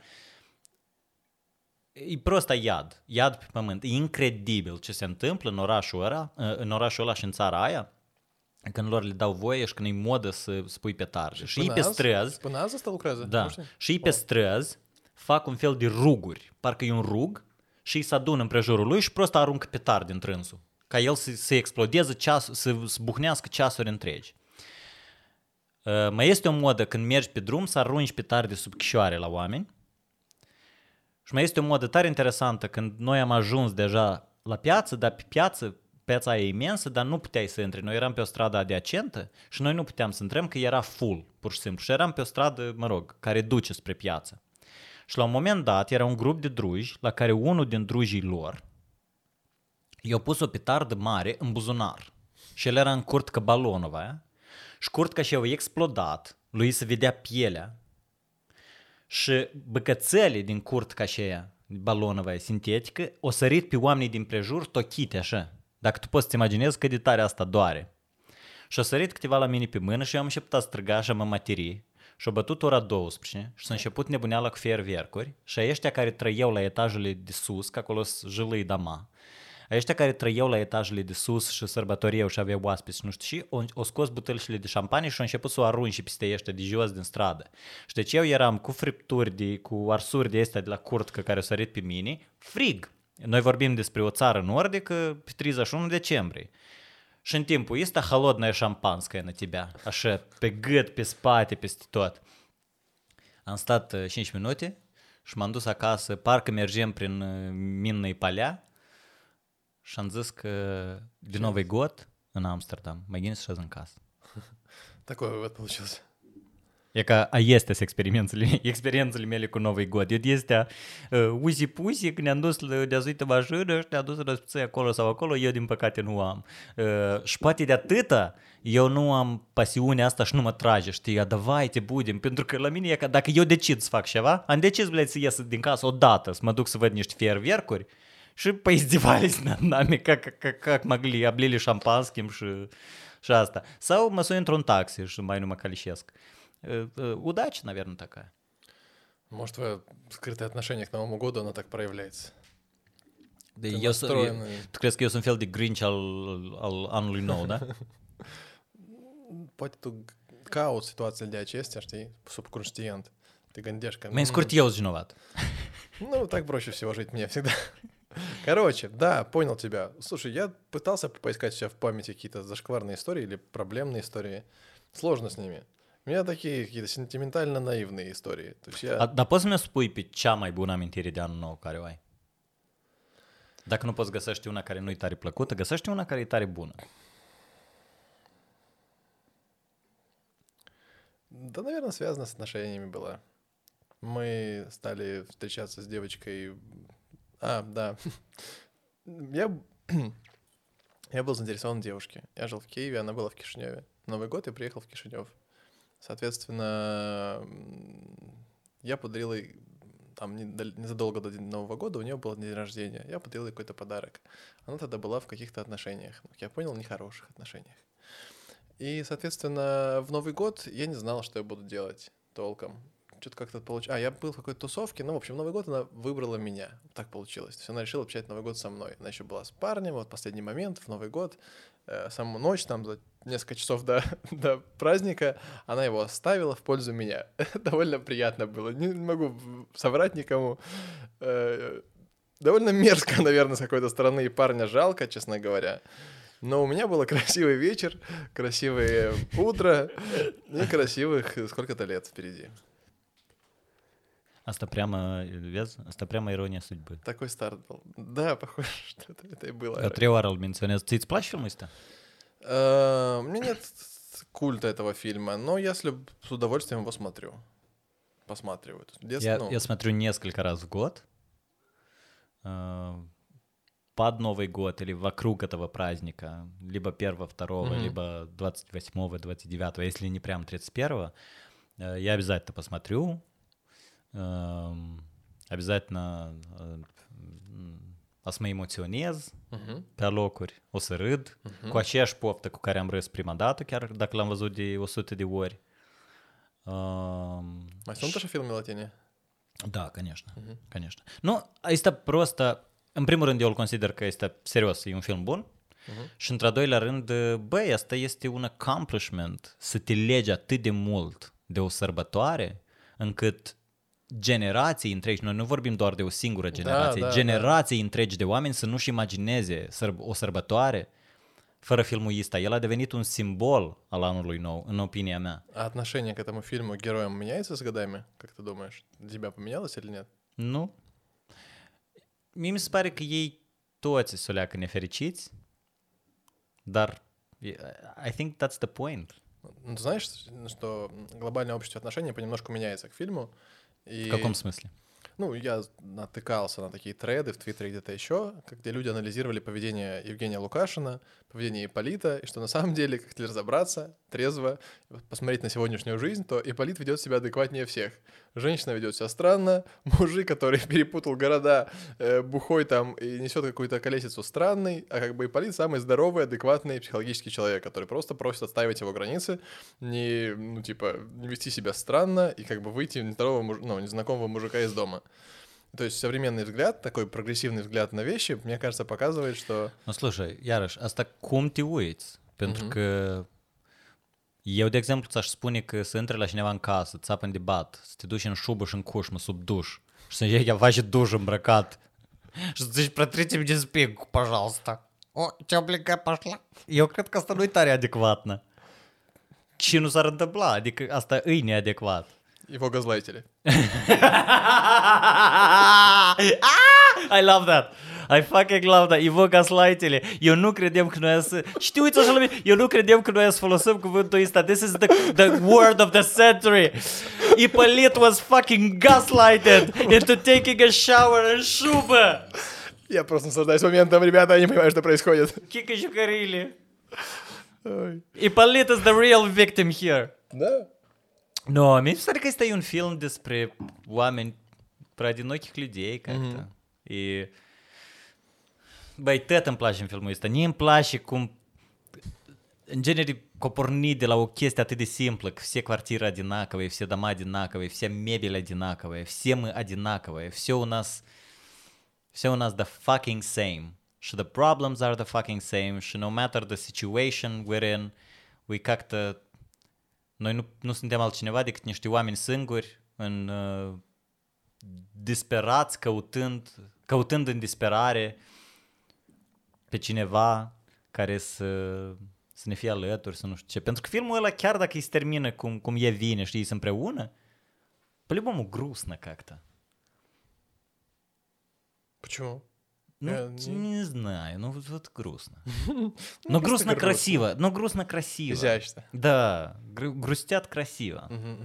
e prost iad pe pământ. E incredibil ce se întâmplă în orașul ăla și în țara aia, când lor le dau voie și când e modă să pui petarde. Și ei pe străzi... Până azi asta lucrează? Da. Și ei pe străzi fac un fel de ruguri. Parcă e un rug și ei se adună împrejurul lui și prost aruncă petarde în trânsul. Ca el să explodeze, să buhnească ceasuri întregi. Mai este o modă când mergi pe drum să arunci petarde sub chișoare la oameni. Și mai este o modă tare interesantă când noi am ajuns deja la piață, dar pe piața aia e imensă, dar nu puteai să intri. Noi eram pe o stradă adiacentă și noi nu puteam să intrăm că era full, pur și simplu. Și eram pe o stradă, care duce spre piață. Și la un moment dat era un grup de druji la care unul din drujii lor i-a pus o petardă mare în buzunar. Și el era în curtcă balonul aia. Și curtca și-a explodat, lui se vedea pielea. Și băcățele din curtca și aia, balonul aia sintetică, o sărit pe oamenii din prejur tochite așa. Dacă tu poți să-ți imaginezi cât de tare asta doare. Și a sărit câteva la mine pe mână și eu am început a străga și a mă materii. și-a bătut ora 12 și s-a început nebuneala cu feiervercuri și ăștia care trăiau la etajele de sus, că acolo sunt jălăi dama, ăștia care trăiau la etajele de sus și sărbătoriau și aveau oaspeți și nu știu și, o scos butelșile de șampanie și au început să o arunce peste ăștia de jos din stradă. Și deci eu eram cu fripturi, cu arsuri de astea de la curtcă care au sărit pe mine, frig. Noi vorbim despre o țară nordică pe 31 decembrie. Și în timpul ăsta холодная шампанское на тебя, așa, pe gât, pe spate, peste tot. Am stat 5 minute și m-am dus acasă, parcă mergem prin minne palea și am zis că de Новый год în Amsterdam, mai gândesc să în casă. Такой вывод получился. E ca este experiențele mele cu Новый год. Eu de astea uzi-puzi, când ne-am dus de azuită mașină și ne-am dus răspițăi acolo sau acolo, eu din păcate nu am. Și poate de atâta eu nu am pasiunea asta și nu mă trage, știi, давай te budem, pentru că la mine e ca dacă eu decid să fac ceva, am decis, blядь, să ies din casă odată, să mă duc să văd niște feiervercuri și поиздевались над нами, как могли, облили шампанским și asta. Sau mă sun într-un taxi și mai nu mă calișesc. Удача, наверное, такая. Может, твое скрытое отношение к Новому году, оно так проявляется. Tu crezi că eu sunt fel de Grinch al anului nou, da? Poate tu cauți situațiile de acestea, știi, subconștient. Ты gândești că... Mai scurt eu sunt vinovat. Ну, так проще всего жить мне всегда. Короче, да, понял тебя. Слушай, я пытался поискать у себя в памяти какие-то зашкварные истории или проблемные истории. Sложно с nimi. У меня такие какие-то сентиментально-наивные истории. То есть я... Dar poți să-mi spui pe cea mai bună amintire de anul nou care o ai? Dacă nu poți găsești una care nu-i tare plăcută, găsești una care e tare bună. Да, наверное, связано с отношениями было. Мы стали встречаться с девочкой... да. Я был заинтересован в девушке. Я жил в Киеве, она была в Кишиневе. Новый год я приехал в Кишинев. Соответственно, я подарил ей, там, незадолго до Нового года у нее был день рождения. Я подарил ей какой-то подарок. Она тогда была в каких-то отношениях. Как я понял, нехороших отношениях. И, соответственно, в Новый год я не знал, что я буду делать толком. Что-то как-то получилось. Я был в какой-то тусовке, в общем, в Новый год она выбрала меня. Так получилось. То есть она решила общать Новый год со мной. Она еще была с парнем, вот последний момент, в Новый год, саму ночь, там, за несколько часов до праздника, она его оставила в пользу меня. Довольно приятно было. Не могу соврать никому. Довольно мерзко, наверное, с какой-то стороны, и парня жалко, честно говоря. Но у меня был красивый вечер, красивое утро и красивых сколько-то лет впереди. Asta прямо ironia судьбы. Такой старт был. Да, похоже, что это и было. Я 3 ori îl menționez. Ți-ți place filmul ăsta? У меня нет культа этого фильма, но я с удовольствием его смотрю. Посматриваю. Я смотрю несколько раз в год. Под Новый год или вокруг этого праздника. Либо 1-2, либо 28-го, 29-го. Если не прям 31-го, я обязательно посмотрю. Обязательно o să mă emoționez pe locuri, o să râd cu aceeași poftă cu care am râs prima dată, chiar dacă l-am văzut de 100 de ori. Mai sunt așa filme la tine? Da, конечно. Nu, este просто, în primul rând eu îl consider că este serios, e un film bun. Și într-a doilea rând, băi, asta este un accomplishment, să te legi atât de mult de o sărbătoare, încât generații întregi, noi nu vorbim doar de o singură generație, generații întregi de oameni să nu-și imagineze o sărbătoare fără filmul ăsta. El a devenit un simbol al anului nou, în opinia mea. А отношение к этому фильму, к героям меняется с годами? Как ты думаешь? Для тебя поменялось или нет? Nu. Mie mi se pare că ei toți s-o leacă nefericiți, dar I think that's the point. Ты знаешь, что глобальное общество отношений понемножку меняется к фильму? В каком смысле? Ну, я натыкался на такие треды в Твиттере где-то еще, где люди анализировали поведение Евгения Лукашина, поведение Ипполита, и что на самом деле, как если разобраться, трезво посмотреть на сегодняшнюю жизнь, то Ипполит ведет себя адекватнее всех. Женщина ведет себя странно, мужик, который перепутал города, бухой там и несет какую-то колесицу, странный, а как бы Ипполит самый здоровый, адекватный психологический человек, который просто просит отстаивать его границы, не, ну, типа, не вести себя странно и как бы выйти незнакомого мужика из дома. То есть современный взгляд, такой progresivный взгляд на вещи, мне кажется, показывает, что... Nu, слушай, iarăși, asta cum te uiți? Pentru că eu, de exemplu, ți-aș spune că să intri la cineva în casă, ți apă în debat, să te duci în șubă și în cușmă, sub duș, și să iei ceva și duș îmbrăcat, și să zici, protrite-mi din spingu, păjalsta. O, ce obligat pășla? Eu cred că asta nu-i tare adecvatnă. Și nu s-ar întâmpla, adică asta e neadecvat. Его газлайтили. I love that. I fucking love that. Его gaslightили. Eu nu credem că noi să... Știi, uite așa la mine. Eu nu credem că noi să folosim cuvântul ăsta. This is the word of the century. Ипполит was fucking gaslighted into taking a shower în șubă. Я просто наслаждаюсь моментом, ребята, я не понимаю, что происходит. Кика Жукарили. Ипполит is the real victim here. Да? No, mi se pare că este un film despre oameni, про одиноких людей как-то. И... Băi, tot îmi place în filmul ăsta. Mie îmi place cum... În genere, că porni de la o chestie atât de simplă, că все квартиры одинаковые, все дома одинаковые, вся мебель одинаковая, все мы одинаковые, все у нас the fucking same. Și the problems are the fucking same. Și no matter the situation we're in, we как-то... Noi nu suntem altcineva decât niște oameni singuri, disperați, căutând în disperare pe cineva care să ne fie alături, să nu știu ce. Pentru că filmul ăla, chiar dacă îi se termină cum e vine, știi, sunt împreună, по-любому грустно как-то. Почему? Ну, не знаю, ну вот грустно. Но грустно красиво, но грустно красиво. Изящно. Да, грустят красиво.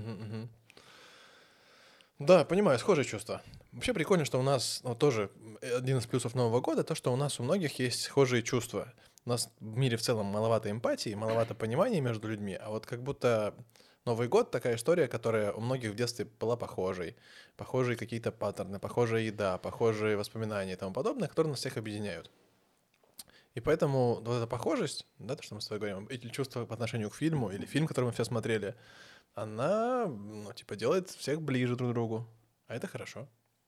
Да, понимаю, схожие чувства. Вообще прикольно, что у нас тоже один из плюсов Нового года, то, что у нас у многих есть схожие чувства. У нас в мире в целом маловато эмпатии, маловато понимания между людьми, а вот как будто Новый год — такая история, которая у многих в детстве была похожей. Похожие какие-то паттерны, похожая еда, похожие воспоминания и тому подобное, которые нас всех объединяют. И поэтому вот эта похожесть, да, то, что мы с тобой говорим, эти чувства по отношению к фильму, или фильм, который мы все смотрели, она, ну, типа, делает всех ближе друг к другу. А это хорошо.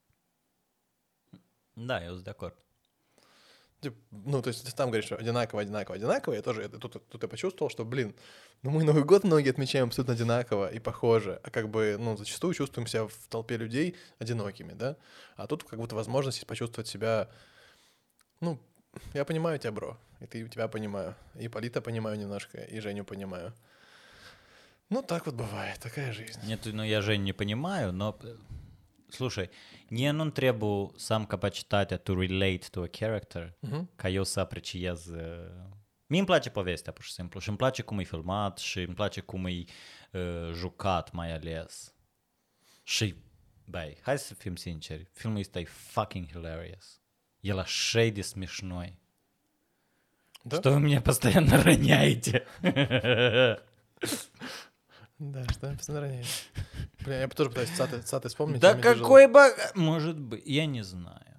Да, я de acord. Ну, то есть ты там говоришь, что одинаково. Я тоже тут я почувствовал, что, блин, ну мы Новый год многие отмечаем абсолютно одинаково и похоже, а как бы, ну, зачастую чувствуем себя в толпе людей одинокими, да? А тут как будто возможность есть почувствовать себя, ну, я понимаю тебя, бро, и тебя понимаю, и Ипполита понимаю немножко, и Женю понимаю. Ну, так вот băvает, такая жизнь. Нет, ну я Женю не понимаю, но... Слушай, nie nu trebuie să am capacitatea to relate to a character, ca eu să apreciez... Mie îmi place povestea, pur și simplu, și îmi place cum e filmat și îmi place cum e jucat, mai ales. Și, băi, hai să fim sinceri, filmul ăsta e fucking hilarious. El așa de смешной. Да? Что вы меня постоянно роняете. Да, что я постоянно роняю. Блин, я тоже пытаюсь цаты вспомнить. Да какой бы... Может быть, я не знаю.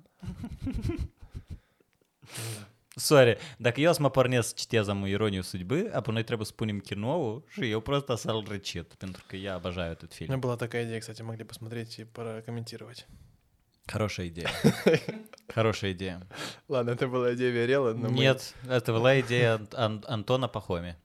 Sorry, dacă eu să mă pornesc să citez am Ironiu судьбы, apoi noi trebuie să punem кино și eu просто să-l recit, pentru că я обожаю этот фильм. У меня была такая идея, кстати, могли посмотреть и прокомментировать. Хорошая идея. Хорошая идея. Ладно, это была идея Верела, но Нет, это была идея Антона Пахоми.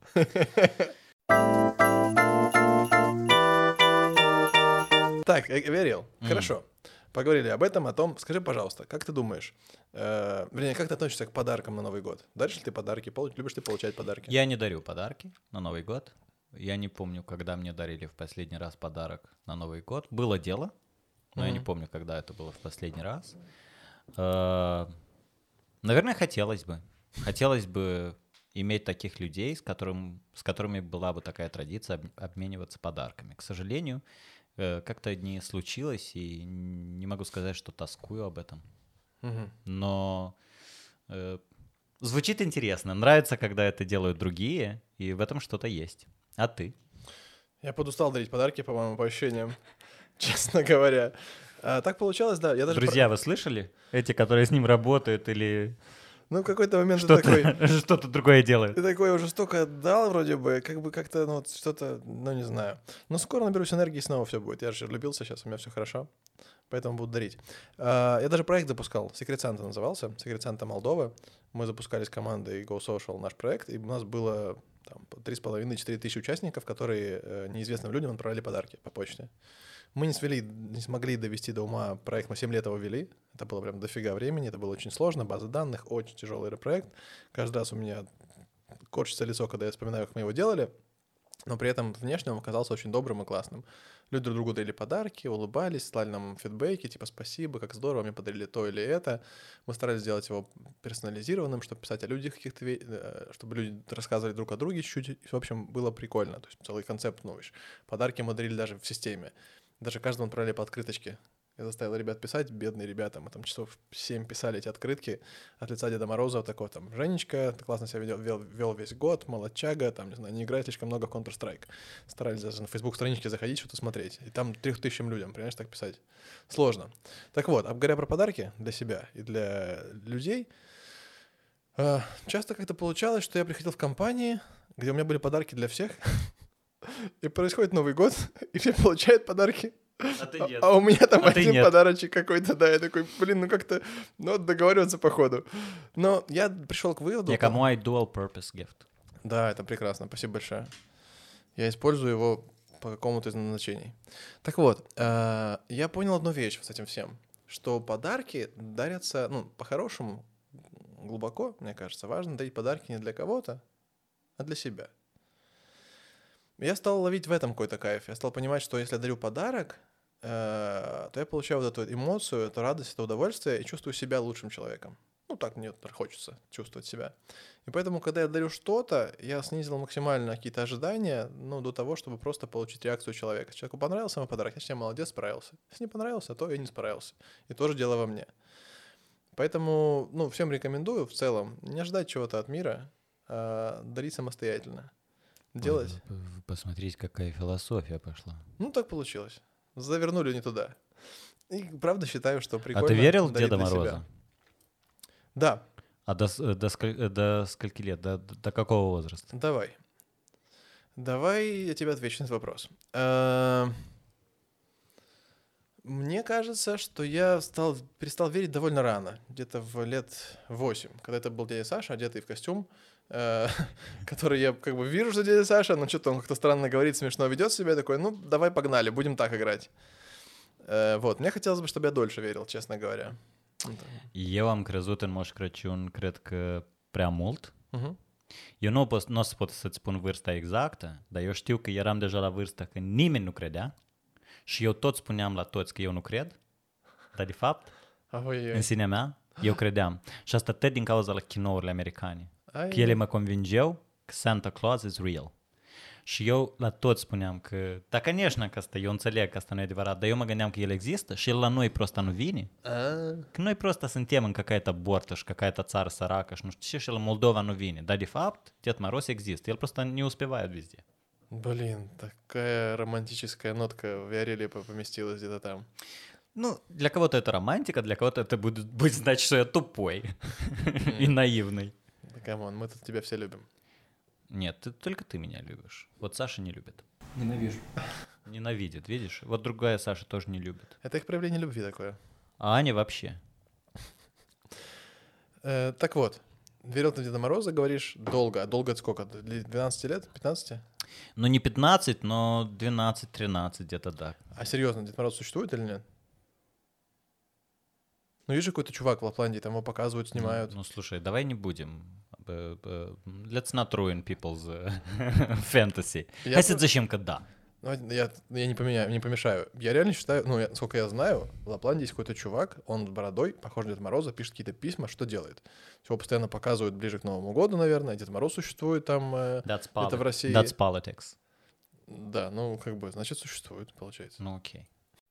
Так, Верел, хорошо. Поговорили об этом, о том. Скажи, пожалуйста, как ты думаешь, вернее, как ты относишься к подаркам на Новый год? Даришь ли ты подарки? Любишь ты получать подарки? Я не дарю подарки на Новый год. Я не помню, когда мне дарили в последний раз подарок на Новый год. Было дело, но я не помню, когда это было в последний раз. Наверное, хотелось бы. Хотелось бы иметь таких людей, с которыми была бы такая традиция обмениваться подарками. К сожалению, как-то не случилось, и не могу сказать, что тоскую об этом. Мгм. Но звучит интересно. Нравится, когда это делают другие, и в этом что-то есть. А ты? Я подустал дарить подарки, по-моему, по ощущениям, честно говоря. Так получалось, да. Я даже Друзья, вы слышали? Эти, которые с ним работают или Ну, в какой-то момент ты такой... что-то другое делают. Ты такой уже столько отдал вроде бы, как бы как-то, ну, вот что-то, ну, не знаю. Но скоро наберусь энергии, и снова все будет. Я же влюбился сейчас, у меня все хорошо, поэтому буду дарить. Я даже проект запускал, Secret Santa назывался, Secret Santa Молдова. Мы запускали с командой Go Social наш проект, и у нас было там 3,5-4 тысячи участников, которые неизвестным людям отправляли подарки по почте. Мы не смогли довести до ума проект, мы 7 лет его вели. Это было прям дофига времени, это было очень сложно, база данных, очень тяжелый проект. Каждый раз у меня корчится лицо, когда я вспоминаю, как мы его делали, но при этом внешне он оказался очень добрым и классным. Люди друг другу дарили подарки, улыбались, слали нам фидбэки, типа спасибо, как здорово, мне подарили то или это. Мы старались сделать его персонализированным, чтобы писать о людях каких-то, чтобы люди рассказывали друг о друге чуть-чуть. В общем, было прикольно. То есть целый концепт, ну, подарки мы дарили даже в системе. Даже каждому отправляли по открыточке. Я заставил ребят писать, бедные ребята, мы там часов 7 писали эти открытки от лица Деда Мороза, такой там: Женечка, ты классно себя вел весь год, молодчага, там, не знаю, не играет слишком много в Counter-Strike. Старались даже на Facebook-страничке заходить, что-то смотреть. И там 3000 людям, понимаешь, так писать. Сложно. Так вот, говоря про подарки для себя и для людей, часто как-то получалось, что я приходил в компании, где у меня были подарки для всех, и происходит Новый год, и все получают подарки. А у меня там один подарочек какой-то, да, я такой, блин, ну как-то, ну договариваться по ходу. Но я пришел к выводу... Кому dual purpose gift. Да, это прекрасно, спасибо большое. Я использую его по какому-то из назначений. Так вот, я понял одну вещь с этим всем, что подарки дарятся, ну, по-хорошему, глубоко, мне кажется, важно дарить подарки не для кого-то, а для себя. Я стал ловить в этом какой-то кайф. Я стал понимать, что если я дарю подарок, то я получаю вот эту эмоцию, эту радость, это удовольствие и чувствую себя лучшим человеком. Ну, так мне хочется чувствовать себя. И поэтому, когда я дарю что-то, я снизил максимально какие-то ожидания, ну, до того, чтобы просто получить реакцию человека. Если человеку понравился мой подарок, значит, я молодец, справился. Если не понравился, то я не справился. И тоже дело во мне. Поэтому, ну, всем рекомендую в целом не ждать чего-то от мира, а дарить самостоятельно. Делать. Посмотреть, какая философия пошла. Ну, так получилось. Завернули не туда. И правда считаю, что прикольно. А ты верил в дарить Деда для Мороза? себя. Да. А до скольки лет? До какого возраста? Давай я тебе отвечу на этот вопрос. Мне кажется, что я перестал верить довольно рано, где-то в лет 8, когда это был дядя Саша, одетый в костюм, который я как бы вижу, что дядя Саша, но что-то он как-то странно говорит, смешно ведет себя, такой, ну, давай погнали, будем так играть. Вот, мне хотелось бы, чтобы я dольше верил, честно говоря. Eu am crezut în Moș Crăciun, cred că prea mult. Uh-huh. Eu nu o să pot să-ți spun vârsta exactă, dar eu știu că eram deja la vârsta că nimeni nu credea și eu tot spuneam la toți că eu nu cred, dar de fapt, în sinea mea, eu credeam. Și asta tot din cauza la kinourile americane. Că ele mă convingeau că Santa Claus is real. Și eu la toți spuneam că, da, конечно, că asta, eu înțeleg că asta nu e adevărat, dar eu mă gândeam că el există și el la noi просто nu vine. Că noi просто suntem în какая-то борtă și какая-то țară săracă și nu știu ce, și la Moldova nu vine. Dar de fapt, Дед Мороз există, el просто не успевает везде. Блин, такая романтическая нотка в Виареле поместилась где-то там. Ну, для кого-то это романтика, для кого-то это будет значить, что я тупой и наивный. Да камон, мы тут тебя все любим. Нет, только ты меня любишь. Вот Саша не любит. Ненавижу. Ненавидит, видишь? Вот другая Саша тоже не любит. Это их проявление любви такое. А Аня вообще. Так вот, верил ты в Деда Мороза, говоришь, долго. А долго это сколько? 12 лет? 15? Ну, не 15, но 12-13 где-то, да. А серьезно, Дед Мороз существует или нет? Ну, есть же какой-то чувак в Лапландии, там его показывают, снимают. Ну, слушай, давай не будем. Let's not ruin people's fantasy. Хотя зачем-ка да. Я не помешаю. Я реально считаю, ну, сколько я знаю, в Лапландии есть какой-то чувак, он с бородой, похож на Деда Мороза, пишет какие-то письма, что делает? Его постоянно показывают ближе к Новому году, наверное, Дед Мороз существует там где-то в России. That's politics. Да, ну, как бы, значит, существует, получается. Ну окей.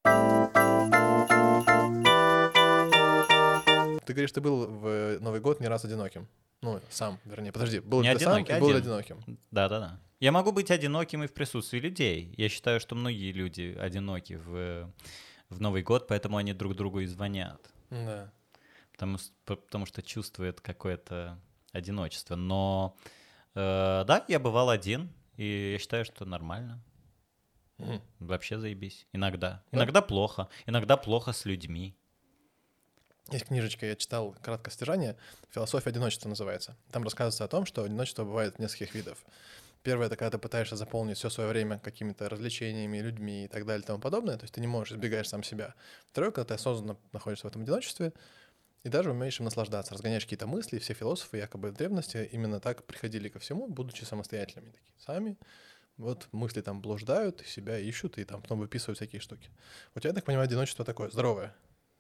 Ты говоришь, ты был в Новый год не раз одиноким. Ну, сам, вернее. Подожди, был Не ли ты сам одинокий, и был ли один. одиноким? Да-да-да. Я могу быть одиноким и в присутствии людей. Я считаю, что многие люди одиноки в Новый год, поэтому они друг другу и звонят. Да. Потому что чувствуют какое-то одиночество. Но да, я бывал один, и я считаю, что нормально. Мгм. Вообще заебись. Иногда. Да? Иногда плохо. Иногда плохо с людьми. Есть книжечка, я читал краткое содержание, «Философия одиночества» называется. Там рассказывается о том, что одиночество бывает нескольких видов. Первое — это когда ты пытаешься заполнить все свое время какими-то развлечениями, людьми и так далее и тому подобное, то есть ты не можешь, избегаешь сам себя. Второе — когда ты осознанно находишься в этом одиночестве и даже умеешь им наслаждаться, разгоняешь какие-то мысли. Все философы якобы в древности именно так приходили ко всему, будучи самостоятельными. Такие сами вот мысли там блуждают, себя ищут и там потом выписывают всякие штуки. У тебя, я так понимаю, одиночество такое здоровое.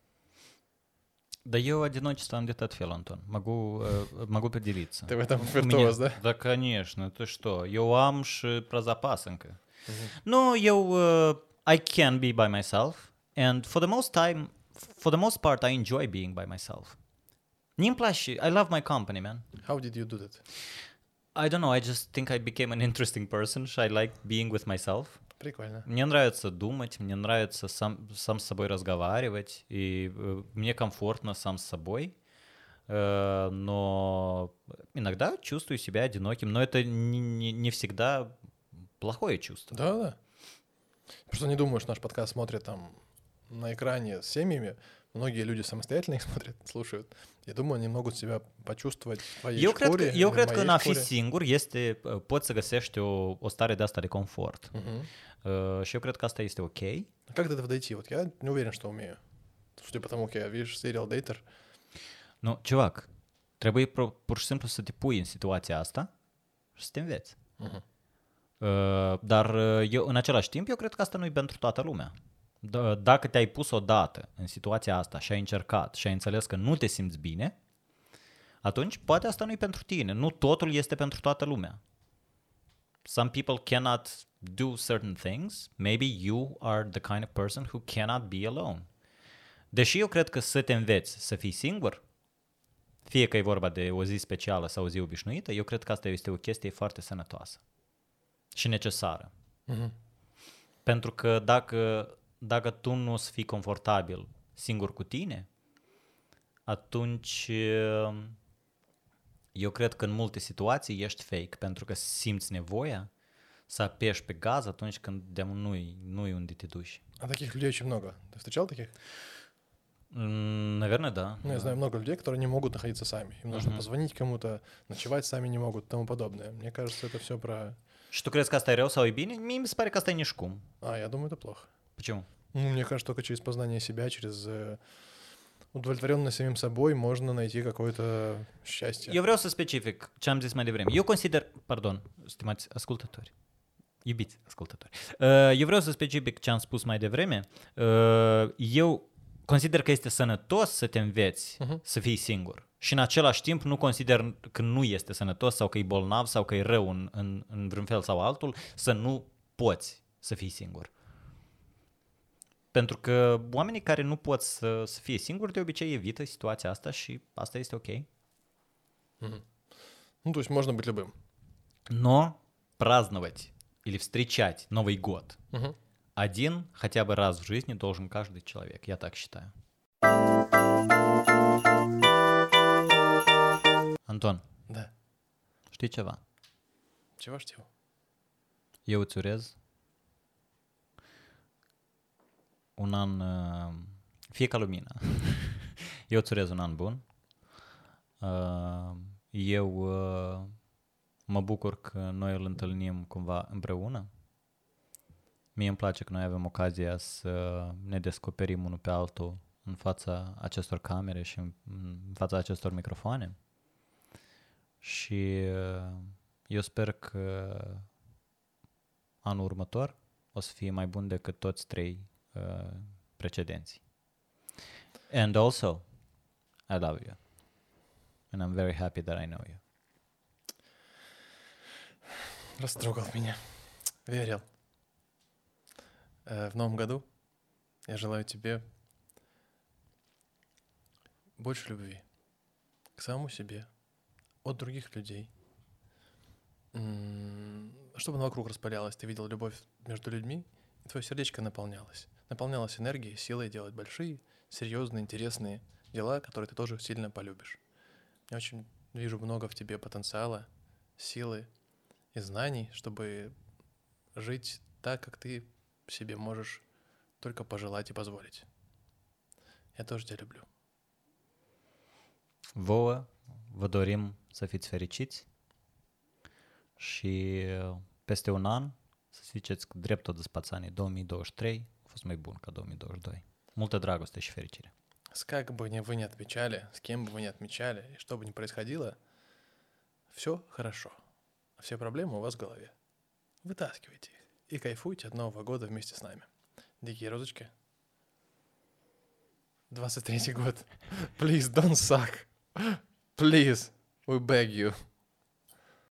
Да я одиночеством где-то отфел, Антон. Могу поделиться. Ты в этом У виртуоз, меня- да? Да, конечно. Ты что? Eu am și про запасенка. Мгм. No, I can be by myself, and for the most part, I enjoy being by myself. Nim place, I love my company, man. How did you do that? I don't know, I just think I became an interesting person. I like being with myself. Прикольно. Мне нравится думать, мне нравится сам с собой разговаривать, и мне комфортно сам с собой. Но иногда чувствую себя одиноким, но это не всегда плохое чувство. Да. Просто не думаю, что наш подкаст смотрят там на экране с семьями. Многие люди самостоятельно их смотрят, слушают. Я думаю, они могут себя почувствовать в твоей шкуре. Eu или cred в că în моей a fi шкуре. singur poți să găsești o stare de asta de confort. Мгм. Și eu cred că asta este ok. А как до этого дойти? Вот я не уверен, что умею. Судя по тому, как я, видишь, serial dater. Nu, civac, trebuie pur și simplu să te pui în situația asta și să te înveți. Мгм. Dar în același timp, eu cred că asta nu e pentru toată lumea. Dacă te-ai pus odată în situația asta și ai încercat și ai înțeles că nu te simți bine, atunci poate asta nu e pentru tine. Nu totul este pentru toată lumea. Some people cannot do certain things. Maybe you are the kind of person who cannot be alone. Deși eu cred că să te înveți să fii singur, fie că e vorba de o zi specială sau o zi obișnuită, eu cred că asta este o chestie foarte sănătoasă și necesară. Мгм. Pentru că dacă tu nu o să fii confortabil singur cu tine, atunci eu cred că în multe situații ești fake, pentru că simți nevoia să apeși pe gaz atunci când nu-i unde te duci. А таких людей очень много. Ты встречал таких? Наверное, да. Ну, я знаю много людей, которые не могут находиться сами. Им нужно позвонить кому-то, ночевать сами не могут и тому подобное. Мне кажется, это все про... Și tu crezi că asta e rău sau e bine? Mie mi se pare că asta e nici cum. Я думаю, это плохо. Почему? Ну, мне кажется, только через познание себя, через удовлетворенность самим собой можно найти какое-то счастье. Eu vreau să specific ce am zis mai devreme. Eu consider, pardon, stimați ascultători, iubiți ascultători, eu vreau să specific ce am spus mai devreme. Eu consider că este sănătos să te înveți să fii singur. Și în același timp nu consider că nu este sănătos sau că e bolnav sau că e rău în vreun fel sau altul să nu poți să fii singur. Pentru că oamenii care nu pot să fie singuri de obicei evită situația asta și asta este ok. Ну, то есть можно быть любым. Но праздновать или встречать Новый год Мгм. один хотя бы раз в жизни должен каждый человек. Я так считаю. Anton, Да. știi ceva? Чего ж чего? Eu îți urez un an, fie ca lumina. Eu îți urez un an bun. Eu mă bucur că noi îl întâlnim cumva împreună. Mie îmi place că noi avem ocazia să ne descoperim unul pe altul în fața acestor camere și în fața acestor microfoane. Și eu sper că anul următor o să fie mai bun decât toți trei precedenții. And also, I love you. And I'm very happy that I know you. Растрогал меня. Верил. В новом году я желаю тебе больше любви к самому себе, от других людей. Чтобы она вокруг распалялась, ты видел любовь между людьми, и твое сердечко наполнялось. Наполнялось энергией, силой делать большие, серьезные, интересные дела, которые ты тоже сильно полюбишь. Я очень вижу много в тебе потенциала, силы и знаний, чтобы жить так, как ты себе можешь только păjălать и позволить. Я тоже тебя люблю. Vouă vă dorim să fiți fericiți și peste un an să ziceți că drept tot spățanii 2023 a fost mai bun ca 2022. Multă dragoste și fericire. Как бы вы ни отмечали, с кем бы вы ни отмечали, и что бы ни происходило, все хорошо. Все проблемы у вас в голове. Вытаскивайте их и кайфуйте от Нового года вместе с нами. Дикие розочки. 23-й год. Please don't suck. Please, we beg you.